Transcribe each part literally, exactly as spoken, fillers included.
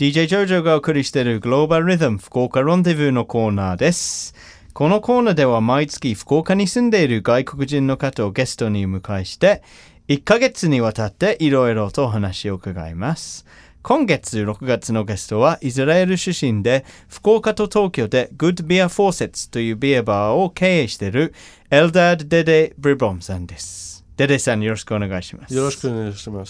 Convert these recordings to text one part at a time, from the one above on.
ディージェー ジョジョがお送りしているグローバルリズム福岡ロンデブーのコーナーです。このコーナーでは毎月福岡に住んでいる外国人の方をゲストに迎えしていっかげつにわたっていろいろとお話を伺います。今月ろくがつのゲストはイスラエル出身で福岡と東京で Good Beer Faucets というビアバーを経営しているエルダード・デデ・ブリボムさんです。デデさんよろしくお願いします。 よろしくお願いします。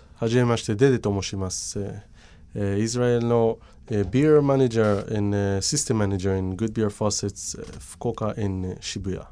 はじめましてデデと申します。Uh, Israel no uh, beer manager and uh, system manager in Good Beer Faucets, uh, Fukuoka and uh, Shibuya.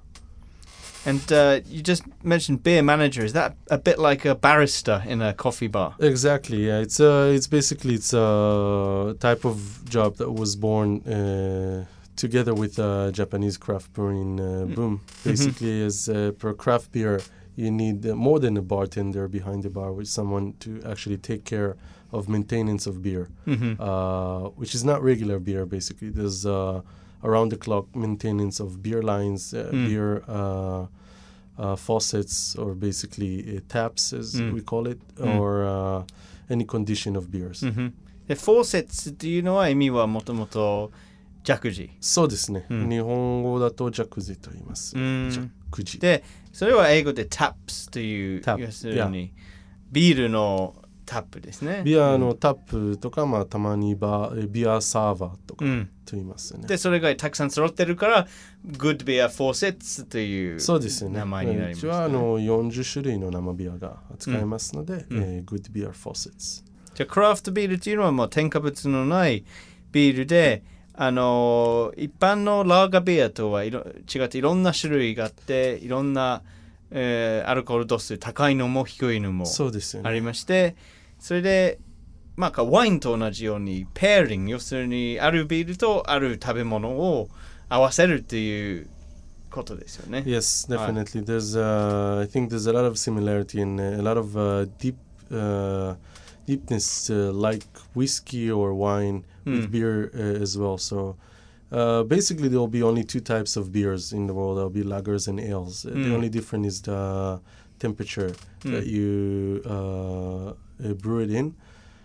And uh, you just mentioned beer manager. Is that a bit like a barista in a coffee bar? Exactly. Yeah, it's uh, it's basically it's a type of job that was born uh, together with uh, Japanese craft brewing uh, boom. Basically, as uh, per craft beer, you need uh, more than a bartender behind the bar with someone to actually take care of maintenance of beer, mm-hmm. uh, which is not regular beer. Basically, there's uh, around the clock maintenance of beer lines, uh, mm. beer uh, uh, faucets, or basically uh, taps, as mm. we call it, mm. or uh, any condition of beers. Mm-hmm. The faucets っていうのは意味はもともとジャクジ。 そうですね。 うん、 日本語だとジャクジと言います。 うん、 ジャクジ。 で、それは英語で taps という、要するにビールのタップですね。 ビアのタップとか、まあ、たまにバビアサーバーとかと言いますよね。 で、それがたくさん揃ってるから Good Beer Faucets という名前になります、ね。 うちはあのよんじゅっしゅるいの生ビアが扱えますので、 うんえー、Good Beer Faucets。 じゃあクラフトビールっていうのはもう添加物のないビールで、あの一般のラーガービアとはいろ違っていろんな種類があっていろんな、えー、アルコール度数高いのも低いのもありまして、それで、まあ、ワインと同じようにペアリング、要するにあるビールとある食べ物を合わせるっていうことですよね。 Yes, definitely. There's, uh, I think there's a lot of similarity and a lot of uh, deep, uh, deepness uh, like whiskey or wine with mm. beer uh, as well. So uh, basically there will be only two types of beers in the world. There will be lagers and ales. Uh, mm. The only difference is the temperature mm. that you uh, uh, brew it in.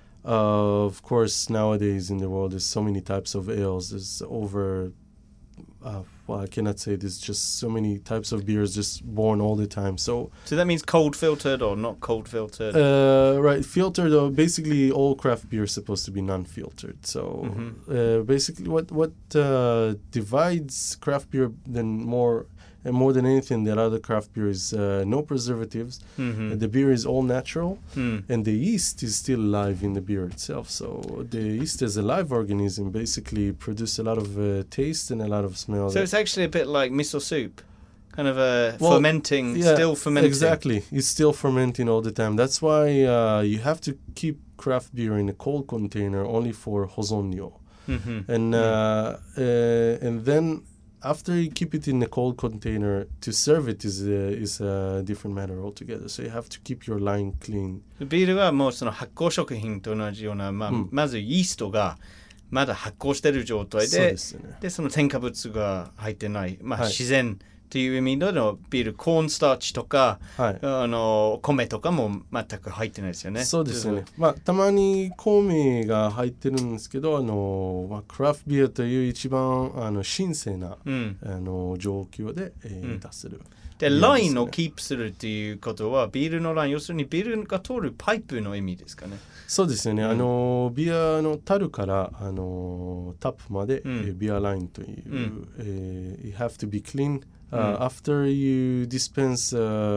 Uh, of course, nowadays in the world, there's so many types of ales. There's over, uh, well, I cannot say there's just so many types of beers just born all the time. So, so that means cold filtered or not cold filtered? Uh, right, filtered. Uh, basically, all craft beer is supposed to be non-filtered. So, mm-hmm. uh, basically, what what uh, divides craft beer then more. And more than anything, the other craft beer is uh, no preservatives. Mm-hmm. Uh, the beer is all natural, mm. and the yeast is still alive in the beer itself. So the yeast as a live organism basically produce a lot of uh, taste and a lot of smell. So it's actually a bit like miso soup, kind of a well, fermenting, yeah, still fermenting. Exactly, it's still fermenting all the time. That's why uh, you have to keep craft beer in a cold container only for hozonyo, mm-hmm. and uh, uh, and then. After you keep it in a cold container, to serve it is a, is a different matter altogether. So you have to keep your line clean. ビールはもうその発酵食品と同じような、まあ、うん、まずイーストがまだ発酵している状態で、そうですね。でその添加物が入ってない、まあ、はい、自然という意味でのビール、コーンスターチとか、はい、あの米とかも全く入ってないですよね。 そうですね。まあたまに米が入ってるんですけど、あのまあ、クラフトビールという一番あの神聖な、うん、あの状況で、えーうん、出せる。 で、ラインをキープするっていうことは、ビールのライン、要するにビールが通るパイプの意味ですかね。 そうですよね。うん、あのビアの樽からあのタップまで、うん、ビアラインという、うんえー、you have to be clean.、Uh, mm. After you dispense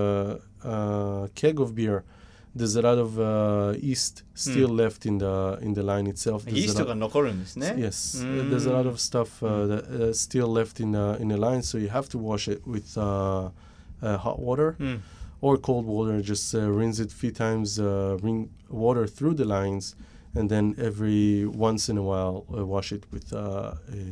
a uh, uh, keg of beer, there's a lot of uh, yeast still mm. left in the in the line itself. Yeast が残るんですね。 Yes, mm. there's a lot of stuff uh, that uh, still left in the in the line, so you have to wash it with uh, uh, hot water mm. or cold water. Just uh, rinse it a few times, uh, bring water through the lines, and then every once in a while uh, wash it with uh,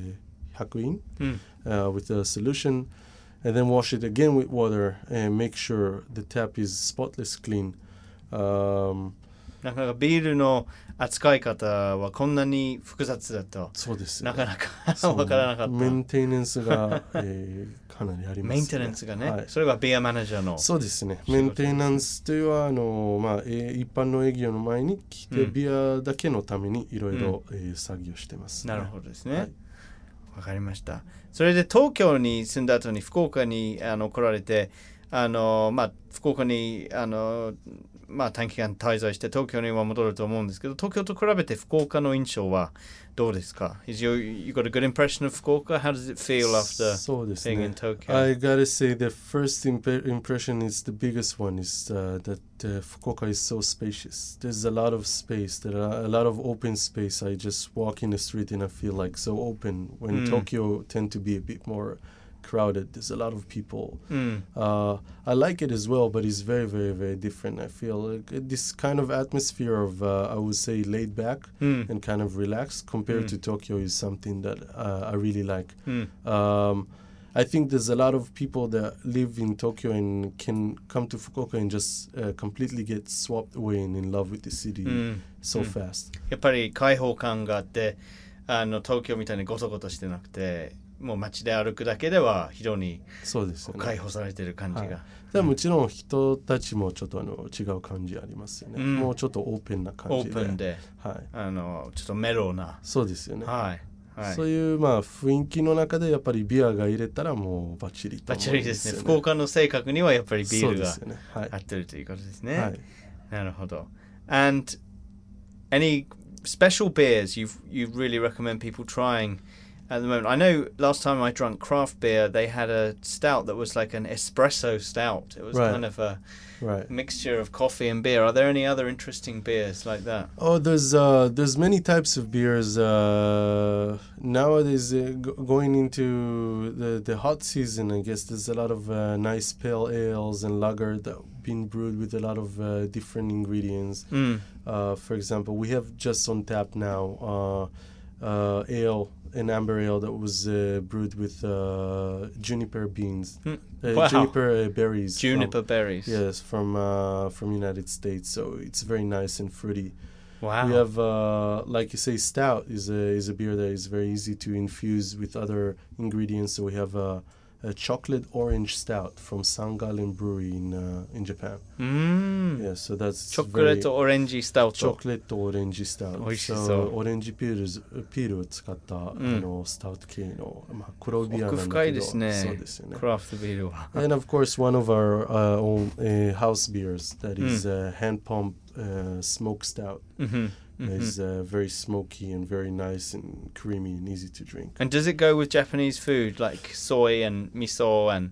hakuin mm. uh, with a solution.And then wash it again with water and make sure the tap is spotless clean. Um, なかなかビールの扱い方はこんなに複雑だとそうですね、 なかなかわからなかった。 メンテナンスが、えー、かなりありますね。 メンテナンスがね、 はい、 それはビアマネージャーの。 そうですね。メンテナンスというのはあの、まあえー、一般の営業の前に来て、うん、ビアだけのためにいろいろ作業してます、 ね、なるほどですね。 はい、 わかりました。それで東京に住んだ後に福岡にあの来られて、あのまあ福岡にあのまあ短期間滞在して東京には戻ると思うんですけど、東京と比べて福岡の印象はどうですか？ Is you you got a good impression of Fukuoka? How does it feel after そうです being ね。 in Tokyo? I gotta say the first imp- impression is the biggest one is uh, that uh, Fukuoka is so spacious. There's a lot of space. There are a lot of open space. I just walk in the street and I feel like so open. When Mm. Tokyo tend to be a bit more crowded, there's a lot of people. Mm. uh, I like it as well, but it's very very very different. I feel like this kind of atmosphere of uh, I would say laid back Mm. and kind of relaxed compared Mm. to Tokyo is something that uh, I really like. Mm. um, I think there's a lot of people that live in Tokyo and can come to Fukuoka and just uh, completely get swapped away and in love with the city Mm. so Mm. fast. やっぱり開放感があって、あの東京みたいにゴソゴソしてなくて、もう街で歩くだけでは非常にそうですよね。 開放されてる感じが。 はい、でももちろん人たちもちょっとあの違う感じありますよね、うん、もうちょっとオープンな感じで、 オープンで、 はい、 あのちょっとメローな。 そうですよね、 はいはい、 そういうまあ雰囲気の中でやっぱりビアが入れたらもうバッチリと思うんですよね。 バッチリですね。福岡の性格にはやっぱりビールがね、はい、 合ってるということですね。 はい、 なるほど。And any special beers you you really recommend people trying at the moment? I know last time I drank craft beer, they had a stout that was like an espresso stout. It was right. kind of a right. mixture of coffee and beer. Are there any other interesting beers like that? Oh, there's uh, there's many types of beers uh, nowadays. Uh, g- going into the the hot season, I guess there's a lot of uh, nice pale ales and lager that have been brewed with a lot of uh, different ingredients. Mm. Uh, for example, we have just on tap now uh, uh, ale. An amber ale that was uh, brewed with uh, juniper beans, mm. uh, wow. juniper uh, berries. Juniper from, berries. Yes, from uh, from United States. So it's very nice and fruity. Wow. We have, uh, like you say, stout is a is a beer that is very easy to infuse with other ingredients. So we have a, a chocolate orange stout from Sangalen Brewery in uh, in Japan. Mm. Yeah, so that's chocolate orange stout. Chocolate orange stout. 美味しそう。 So オレンジピールピールを使った、うん、あのスタウト系のまあ黒ビアなんだけど。 奥深いですね。 そうですよね。 クラフトビールは。 And of course, one of our uh, own uh, house beers that is uh, hand pump uh, smoke stout. Mm-hmm. Mm-hmm. Is uh, very smoky and very nice and creamy and easy to drink. And does it go with Japanese food like soy and miso and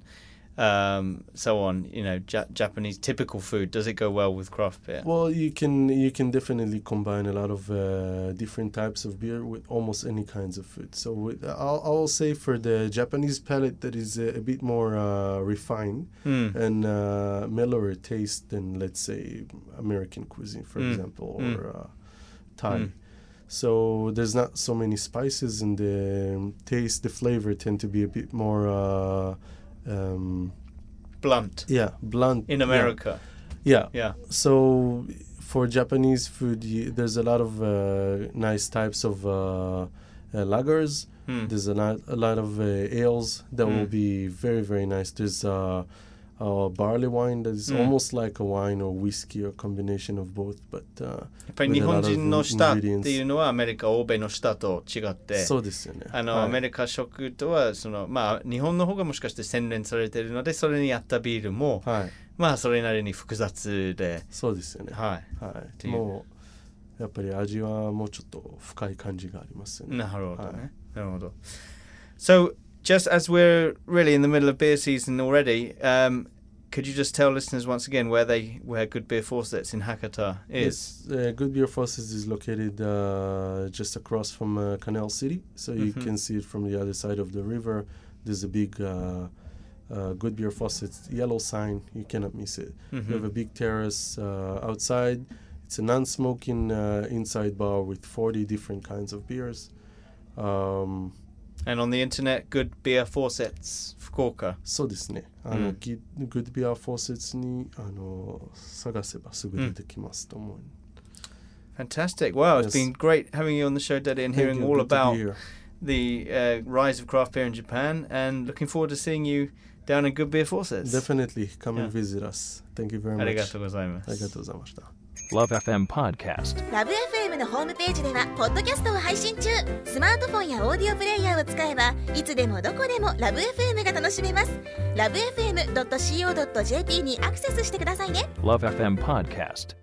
um, so on? You know, ja- Japanese typical food. Does it go well with craft beer? Well, you can you can definitely combine a lot of uh, different types of beer with almost any kinds of food. So with, I'll I'll say for the Japanese palate that is a, a bit more uh, refined mm. and uh, mellower taste than let's say American cuisine, for mm. example, mm. or uh, Thai. Mm. So there's not so many spices, and the taste, the flavor tend to be a bit more uh, um, blunt. Yeah, blunt. In America. Yeah. Yeah. So for Japanese food, y- there's a lot of uh, nice types of uh, uh, lagers. Mm. There's a lot, a lot of uh, ales that Mm. will be very, very nice. There's uh, uh, barley wine that is Mm. almost like a wine or whiskey or combination of both. But uh, やっぱり日本人の舌っていうのはアメリカ、欧米の舌と違って、 そうですよね。 あの、 はい、 アメリカ食とはそのまあ日本の方がもしかして洗練されているので、それに合ったビールも、 はい、 まあそれなりに複雑で、 そうですよね。 はい、 はい、もうやっぱり味はもうちょっと深い感じがありますよね。 なるほどね。 はい、 なるほど。So just as we're really in the middle of beer season already, um, could you just tell listeners once again where they where Good Beer Faucets in Hakata is? Yes, uh, Good Beer Faucets is located uh, just across from uh, Canal City, so you mm-hmm. can see it from the other side of the river. There's a big uh, uh, Good Beer Faucets yellow sign. You cannot miss it. Mm-hmm. We have a big terrace uh, outside. It's a non-smoking uh, inside bar with forty different kinds of beers. Um, And on the internet, Good Beer Faucets 福岡。 そうですね。あの、 うん、 Good Beer Faucets にあの探せばすぐ出てきますと思う。 うん、 Fantastic. Wow, it's Yes. been great having you on the show, Daddy, and Thank hearing you. all Good to be about here. the uh, rise of craft beer in Japan, and looking forward to seeing you down in Good Beer Faucets. Definitely come Yeah. and visit us. Thank you very much. ありがとうございます。 ありがとうございました。 Love エフエム Podcast。 ラブ エフエム のホームページではポッドキャストを配信中。スマートフォンやオーディオプレイヤーを使えばいつでもどこでもラブ エフエム が楽しめます。ラブ エフエムドットシーオードットジェーピー にアクセスしてくださいね。 Love エフエム Podcast。